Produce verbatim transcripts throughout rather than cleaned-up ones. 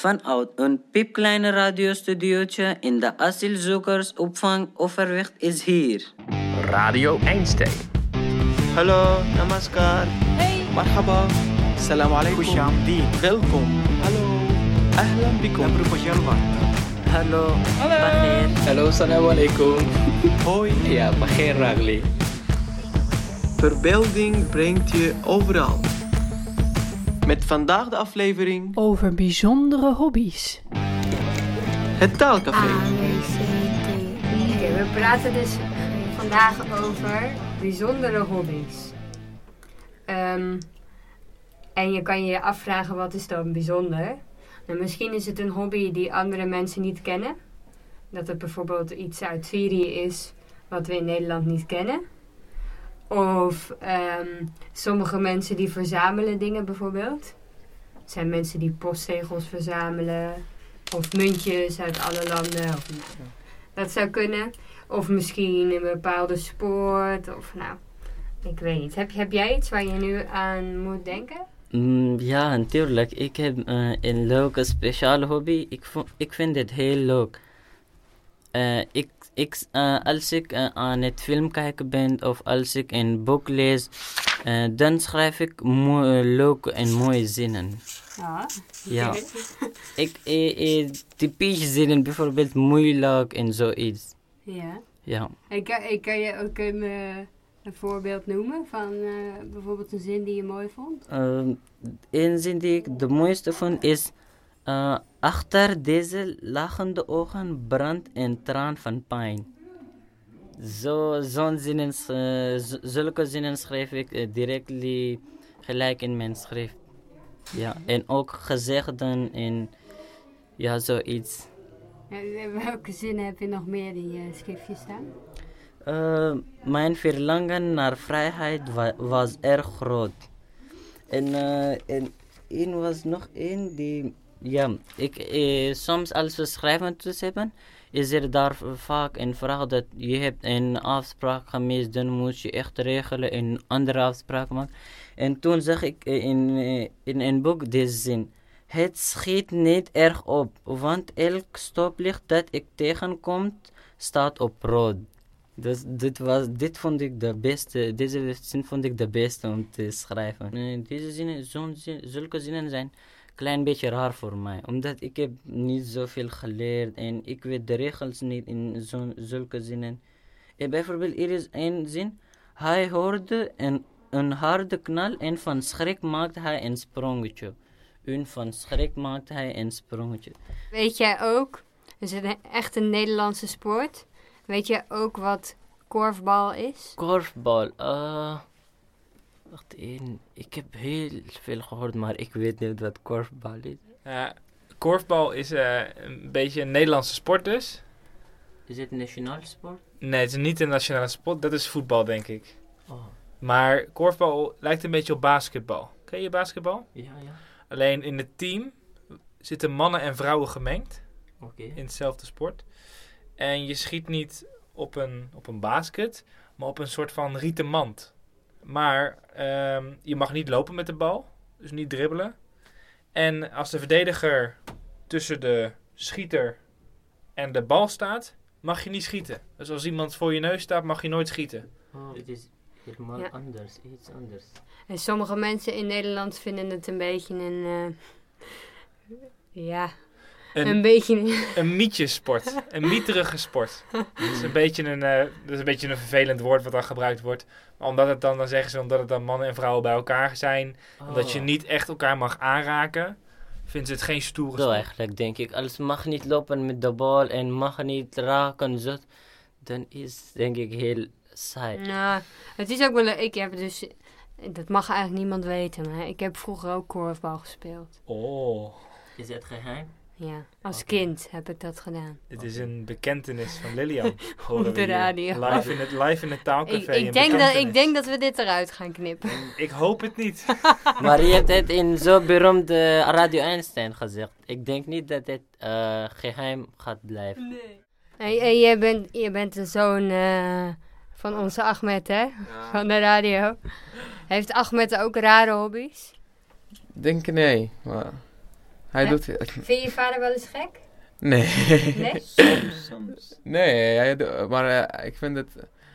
Vanuit een piepkleine radiostudiootje in de asielzoekersopvang Overwicht is hier Radio Einstein. Hallo, namaskar. Hey. Marhaba. Salam alaikum. Kushamdeen. Welkom. Hallo. Ahlan bikum. Nabruko Jalwat. Hallo. Hallo. Bagheer. Hallo, salam alaikum. Hoi. Ja, Bagheer Ragli. Verbeelding brengt je overal. Met vandaag de aflevering Over bijzondere hobby's. het taalcafé. A, B, C, D, E. Oké, we praten dus vandaag over bijzondere hobby's. Um, en je kan je afvragen, wat is dan bijzonder? Nou, misschien is het een hobby die andere mensen niet kennen. Dat het bijvoorbeeld iets uit Syrië is wat we in Nederland niet kennen. Of um, sommige mensen die verzamelen dingen bijvoorbeeld. Er zijn mensen die postzegels verzamelen. Of muntjes uit alle landen. Of, nou, dat zou kunnen. Of misschien een bepaalde sport. Of nou, ik weet niet. Heb, heb jij iets waar je nu aan moet denken? Mm, ja, natuurlijk. Ik heb uh, een leuke speciale hobby. Ik, vo- ik vind dit heel leuk. Uh, ik, ik, uh, als ik uh, aan het film kijken ben of als ik een boek lees, uh, dan schrijf ik mooi, leuke en mooie zinnen. Ja. Ja. ik, uh, uh, typische zinnen, bijvoorbeeld moeilijk en zoiets. Ja. Ja. En kan, en kan je ook een, uh, een voorbeeld noemen van uh, bijvoorbeeld een zin die je mooi vond? Uh, een zin die ik de mooiste vond is: uh, achter deze lachende ogen brandt een traan van pijn. Zo, zo'n zinnen, uh, z- zulke zinnen schrijf ik uh, direct li- gelijk in mijn schrift. Ja, en ook gezegden en ja, zoiets. Ja, welke zinnen heb je nog meer in je schriftje staan? Uh, mijn verlangen naar vrijheid wa- was erg groot. En, uh, en één was nog één die... Ja, ik, eh, soms als we schrijven toets hebben, is er daar vaak een vraag dat je hebt een afspraak gemist, dan moet je echt regelen een andere afspraak maken. En toen zag ik in, in een boek deze zin: het schiet niet erg op, want elk stoplicht dat ik tegenkom staat op rood. Dus dit, was, dit vond ik de beste, deze zin vond ik de beste om te schrijven. En deze zinnen, zo'n zin, zulke zinnen zijn klein beetje raar voor mij, omdat ik heb niet zoveel geleerd en ik weet de regels niet in zo'n, zulke zinnen. En bijvoorbeeld, er is een zin: hij hoorde een, een harde knal en van schrik maakte hij een sprongetje. En van schrik maakte hij een sprongetje. Weet jij ook, is het een, echt een Nederlandse sport? Weet jij ook wat korfbal is? Korfbal, uh, wacht even, ik heb heel veel gehoord, maar ik weet niet wat korfbal is. Uh, korfbal is uh, een beetje een Nederlandse sport dus. Is het een nationaal sport? Nee, het is niet een nationale sport. Dat is voetbal, denk ik. Oh, Maar korfbal lijkt een beetje op basketbal. Ken je basketbal? ja, ja, Alleen in het team zitten mannen en vrouwen gemengd. oké. Okay. In hetzelfde sport. En je schiet niet op een, op een basket, maar op een soort van rieten mand. Maar um, je mag niet lopen met de bal. Dus niet dribbelen. En als de verdediger tussen de schieter en de bal staat, mag je niet schieten. Dus als iemand voor je neus staat, mag je nooit schieten. Oh, het is helemaal Ja. anders, iets anders. En sommige mensen in Nederland vinden het een beetje een... Uh, ja, een, Een, beetje... een mietjesport. Een mieterige sport. Dat is een beetje een, uh, dat is een beetje een vervelend woord wat dan gebruikt wordt. Maar omdat het dan, dan zeggen ze omdat het dan mannen en vrouwen bij elkaar zijn. Oh. Omdat je niet echt elkaar mag aanraken. Vinden ze het geen stoere Zo sport. eigenlijk, denk ik. Als mag niet lopen met de bal en mag niet raken, zo, dan is denk ik heel saai. Nou, het is ook wel leuk. Ik heb dus... Dat mag eigenlijk niemand weten, maar ik heb vroeger ook korfbal gespeeld. Oh, Is het geheim? Ja, als Oké. kind heb ik dat gedaan. dit is een bekentenis van Lilian. Horen Op we de hier. radio. Live in het, live in het taalcafé. Ik, een ik, denk dat, bekentenis. ik denk dat we dit eruit gaan knippen. Ik hoop het niet. Maar je hebt het in zo'n beroemde Radio Einstein gezegd. Ik denk niet dat het uh, geheim gaat blijven. Nee. Hey, hey, jij, bent, jij bent de zoon uh, van onze Ahmed, hè? Ja. Van de radio. Heeft Ahmed ook rare hobby's? Denk nee, maar Hij Ja? doet... Vind je je vader wel eens gek? Nee. Nee? Soms, soms. Nee, hij do- maar uh, ik vind het...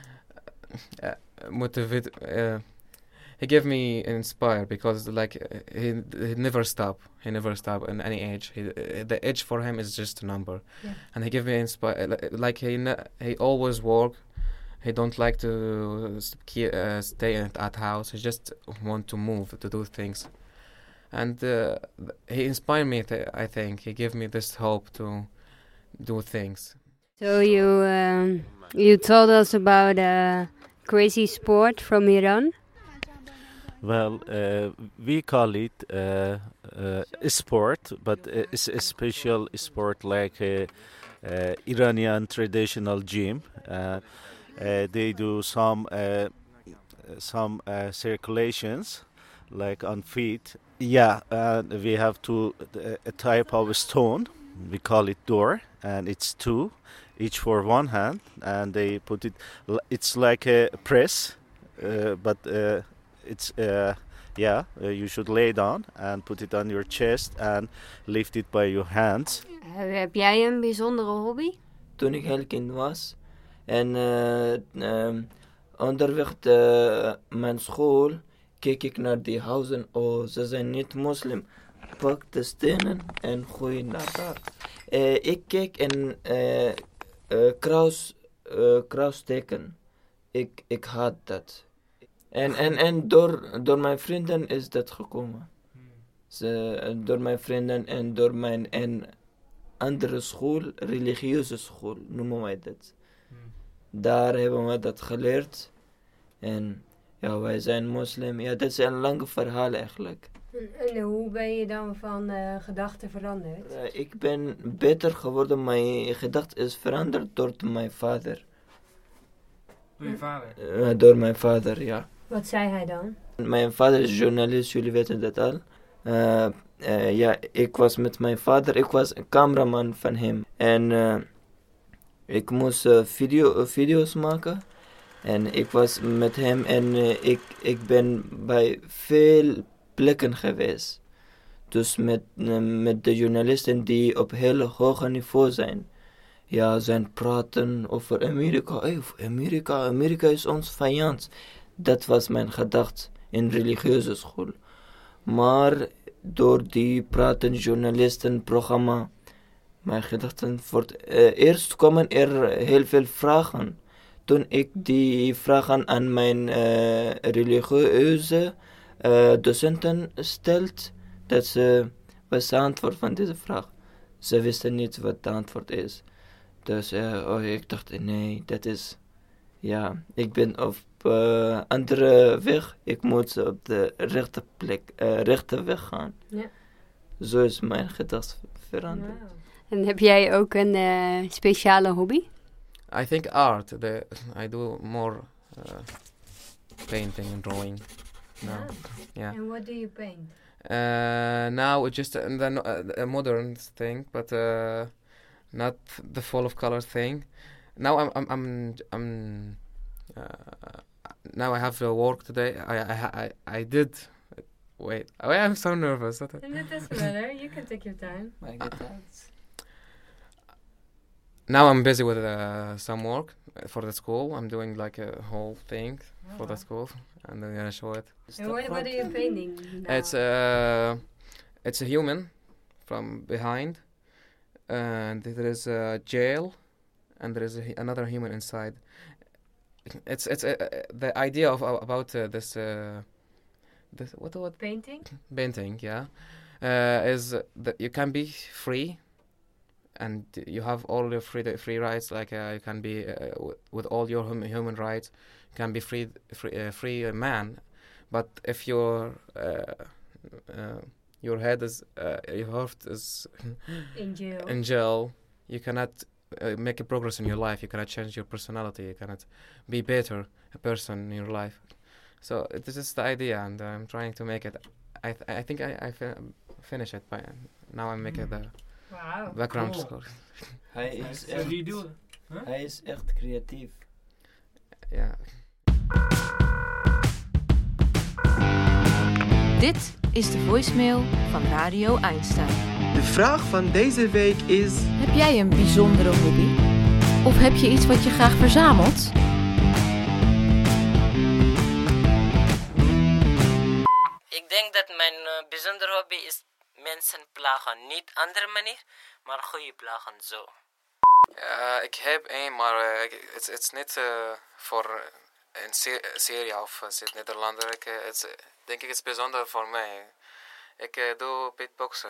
Uh, motivate... Uh, he gave me inspire because like uh, he he never stop. He never stop in any age. He, uh, the age for him is just a number. Yeah. And he gave me inspire. Like he ne- he always work. He don't like to st- uh, stay at, at house. He just want to move, to do things. And uh, he inspired me, th- I think. He gave me this hope to do things. So you um, you told us about a crazy sport from Iran. Well, uh, we call it uh, uh, a sport, but it's a special sport like uh, uh, Iranian traditional gym. Uh, uh, they do some uh, some uh, circulations, like on feet. Yeah, and we have to uh, a type of stone. We call it door, and it's two, each for one hand, and they put it. It's like a press, uh, but. Uh, It's uh, yeah. Uh, you should lay down and put it on your chest and lift it by your hands. Uh, heb jij een bijzondere hobby? Toen ik heel kind was en uh, um, onderweg naar mijn school keek ik naar die huizen. Oh, ze zijn niet moslim. Pak de stenen en gooi naar daar. Uh, ik keek en uh, uh, kruis, uh, kruisteken. Ik, ik had dat. En, en, en door, door mijn vrienden is dat gekomen. Ze, door mijn vrienden en door mijn en andere school, religieuze school, noemen wij dat. Daar hebben we dat geleerd. En ja, wij zijn moslim. Ja, dat is een lang verhaal eigenlijk. En, en hoe ben je dan van uh, gedachten veranderd? Uh, ik ben beter geworden. Mijn gedachte is veranderd door mijn vader. Door je vader? Uh, door mijn vader, ja. Wat zei hij dan? Mijn vader is journalist, jullie weten dat al. Uh, uh, ja, ik was met mijn vader, ik was een cameraman van hem. En uh, ik moest uh, video, uh, video's maken. En ik was met hem en uh, ik, ik ben bij veel plekken geweest. Dus met, uh, met de journalisten die op heel hoog niveau zijn. Ja, zijn praten over Amerika. Hey, Amerika, Amerika is ons vijand. Dat was mijn gedachte in religieuze school. Maar door die praten journalisten programma, mijn gedachten wordt uh, eerst komen er heel veel vragen. Toen ik die vragen aan mijn uh, religieuze uh, docenten stelde, dat ze was de antwoord van deze vraag. Ze wisten niet wat de antwoord is. Dus uh, oh, ik dacht, nee, dat is, ja, ik ben op uh, andere weg. Ik moet op de rechte plek, uh, rechte weg gaan. Ja. Zo is mijn gedachte veranderd. Wow. En heb jij ook een uh, speciale hobby? I think art. The, I do more uh, painting and drawing now. Ah. Yeah. And what do you paint? Uh, now it's just a, a, a modern thing, but uh, not the full of color thing. Now I'm I'm I'm, I'm uh, now I have to work today. I I I, I did. Wait, oh, I'm so nervous. It doesn't matter. You can take your time. My gedachte. Now I'm busy with uh, some work for the school. I'm doing like a whole thing for the school, and then I'm gonna show it. And what, what are you painting now? It's a it's a human from behind, and there is a jail, and there is a, another human inside. It's it's uh, the idea of uh, about uh, this uh, this what what painting painting yeah uh, is that you can be free. And you have all your free free rights, like uh, you can be uh, w- with all your hum- human rights, you can be free free uh, free uh, man. But if your uh, uh, your head is uh, your heart is in jail, in jail, you cannot uh, make a progress in your life. You cannot change your personality. You cannot be better a person in your life. So this is the idea, and I'm trying to make it. I th- I think I I fin- finish it by now. I'm making the. Wow. Background Cool. score. Hij is So echt, do you do it? Huh? hij is echt creatief. Ja. Dit is de voicemail van Radio Einstein. De vraag van deze week is... Heb jij een bijzondere hobby? Of heb je iets wat je graag verzamelt? Ik denk dat mijn uh, bijzondere hobby is mensen plagen. Niet andere manier, maar goede plagen zo. Uh, ik heb één, maar het uh, is niet uh, voor een se- serie of uh, Nederlander. Ik uh, it's, uh, denk ik het is bijzonder voor mij. Ik uh, doe beatboxen.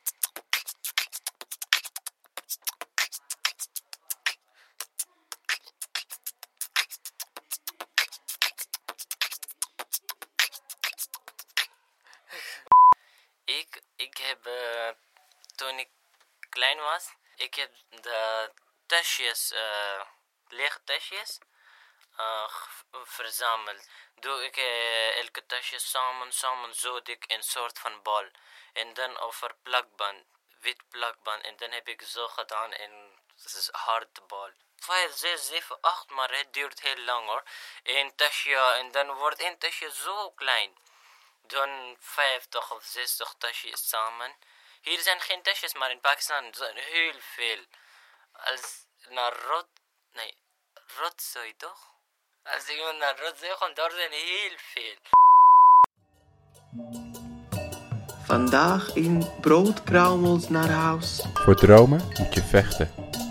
Ik, ik heb, uh, toen ik klein was, ik heb de tasjes, uh, lege tasjes, uh, verzameld. Doe ik uh, elke tasje samen, samen zo dik een soort van bal. En dan over plakband, wit plakband. En dan heb ik zo gedaan en het is harde bal. Vijf, zes, zeven, acht, maar het duurt heel lang hoor. Eén tasje en dan wordt één tasje zo klein. Dan vijftig of zestig tasjes samen. Hier zijn geen tasjes, maar in Pakistan zijn heel veel. Als naar rot, nee, rotzooi toch? Als iemand naar rotzooi gaat, daar zijn heel veel. Vandaag in Broodkruimels naar huis. Voor dromen moet je vechten.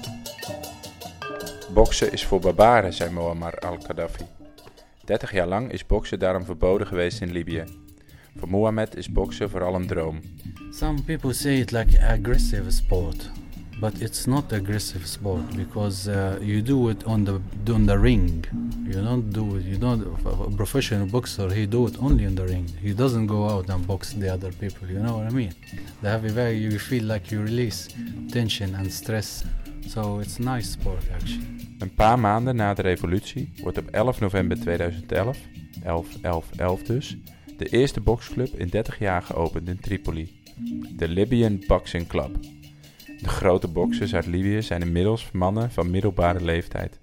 Boksen is voor barbaren, zei Muammar al-Gaddafi. dertig jaar lang is boksen daarom verboden geweest in Libië. Voor Mohammed is boksen vooral een droom. Some people say it like aggressive sport, but it's not aggressive sport because uh, you do it on the on the ring. You don't do it. You don't. A professional boxer, he do it only in the ring. He doesn't go out and box the other people. You know what I mean? They have a very. You feel like you release tension and stress. So it's a nice sport actually. Een paar maanden na de revolutie wordt op elf november tweeduizend elf, elf elf elf dus, de eerste boksclub in dertig jaar geopend in Tripoli. De Libyan Boxing Club. De grote boksers uit Libië zijn inmiddels mannen van middelbare leeftijd.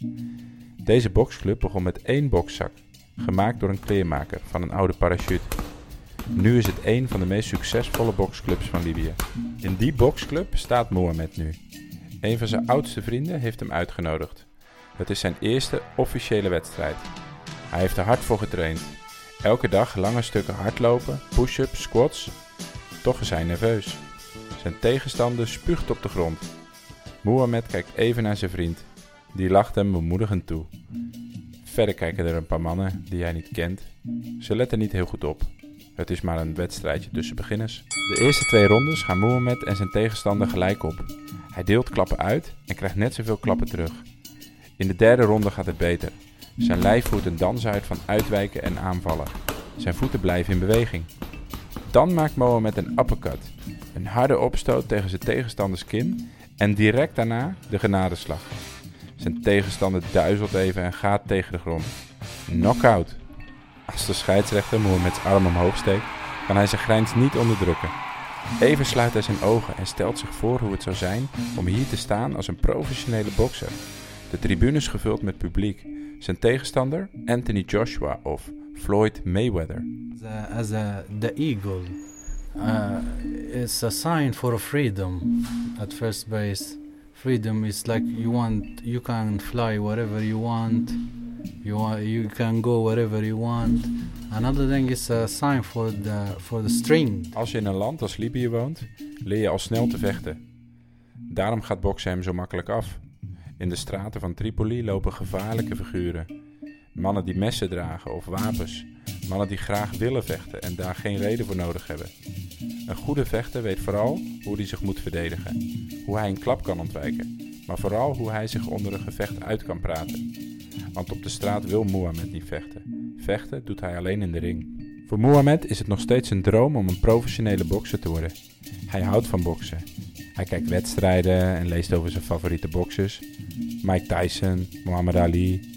Deze boksclub begon met één bokszak, gemaakt door een kleermaker van een oude parachute. Nu is het een van de meest succesvolle boksclubs van Libië. In die boksclub staat Mohammed nu. Een van zijn oudste vrienden heeft hem uitgenodigd. Het is zijn eerste officiële wedstrijd. Hij heeft er hard voor getraind. Elke dag lange stukken hardlopen, push-ups, squats. Toch is hij nerveus. Zijn tegenstander spuugt op de grond. Mohammed kijkt even naar zijn vriend. Die lacht hem bemoedigend toe. Verder kijken er een paar mannen die hij niet kent. Ze letten niet heel goed op. Het is maar een wedstrijdje tussen beginners. De eerste twee rondes gaan Mohammed en zijn tegenstander gelijk op. Hij deelt klappen uit en krijgt net zoveel klappen terug. In de derde ronde gaat het beter. Zijn lijf voert een dans uit van uitwijken en aanvallen. Zijn voeten blijven in beweging. Dan maakt Mohammed een uppercut. Een harde opstoot tegen zijn tegenstanders kin en direct daarna de genadeslag. Zijn tegenstander duizelt even en gaat tegen de grond. Knockout. Als de scheidsrechter Mohammeds arm omhoog steekt, kan hij zijn grijns niet onderdrukken. Even sluit hij zijn ogen en stelt zich voor hoe het zou zijn om hier te staan als een professionele bokser. De tribunes gevuld met publiek. Zijn tegenstander Anthony Joshua of Floyd Mayweather. The, as a, the eagle, uh, it's a sign for freedom at first base. Freedom is like you want, you can fly wherever you want. You want, you can go wherever you want. Another thing is a sign for the for the strength. Als je in een land als Libië woont, leer je al snel te vechten. Daarom gaat boksen hem zo makkelijk af. In de straten van Tripoli lopen gevaarlijke figuren. Mannen die messen dragen of wapens. Mannen die graag willen vechten en daar geen reden voor nodig hebben. Een goede vechter weet vooral hoe hij zich moet verdedigen. Hoe hij een klap kan ontwijken. Maar vooral hoe hij zich onder een gevecht uit kan praten. Want op de straat wil Mohammed niet vechten. Vechten doet hij alleen in de ring. Voor Mohammed is het nog steeds een droom om een professionele bokser te worden. Hij houdt van boksen. Hij kijkt wedstrijden en leest over zijn favoriete boksers. Mike Tyson, Muhammad Ali.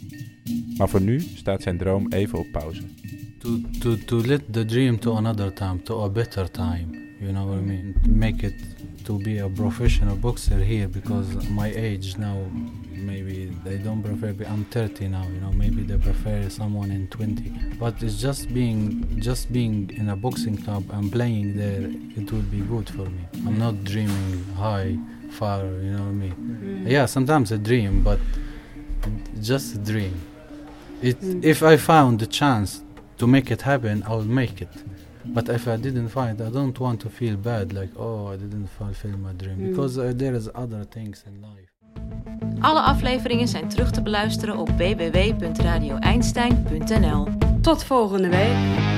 Maar voor nu staat zijn droom even op pauze. To, to, to let the dream to another time, to a better time. You know what I mean? Make it to be a professional boxer here because my age now, maybe boxing. They don't prefer. I'm thirty now, you know. Maybe they prefer someone in twenty. But it's just being, just being in a boxing club and playing there. It will be good for me. I'm not dreaming high, far. You know what I mean? Mm. Yeah, sometimes a dream, but just a dream. It. Mm. If I found the chance to make it happen, I will make it. But if I didn't find, I don't want to feel bad, like, oh, I didn't fulfill my dream. Mm. Because uh, there is other things in life. Alle afleveringen zijn terug te beluisteren op w w w punt radio einstein punt n l. Tot volgende week.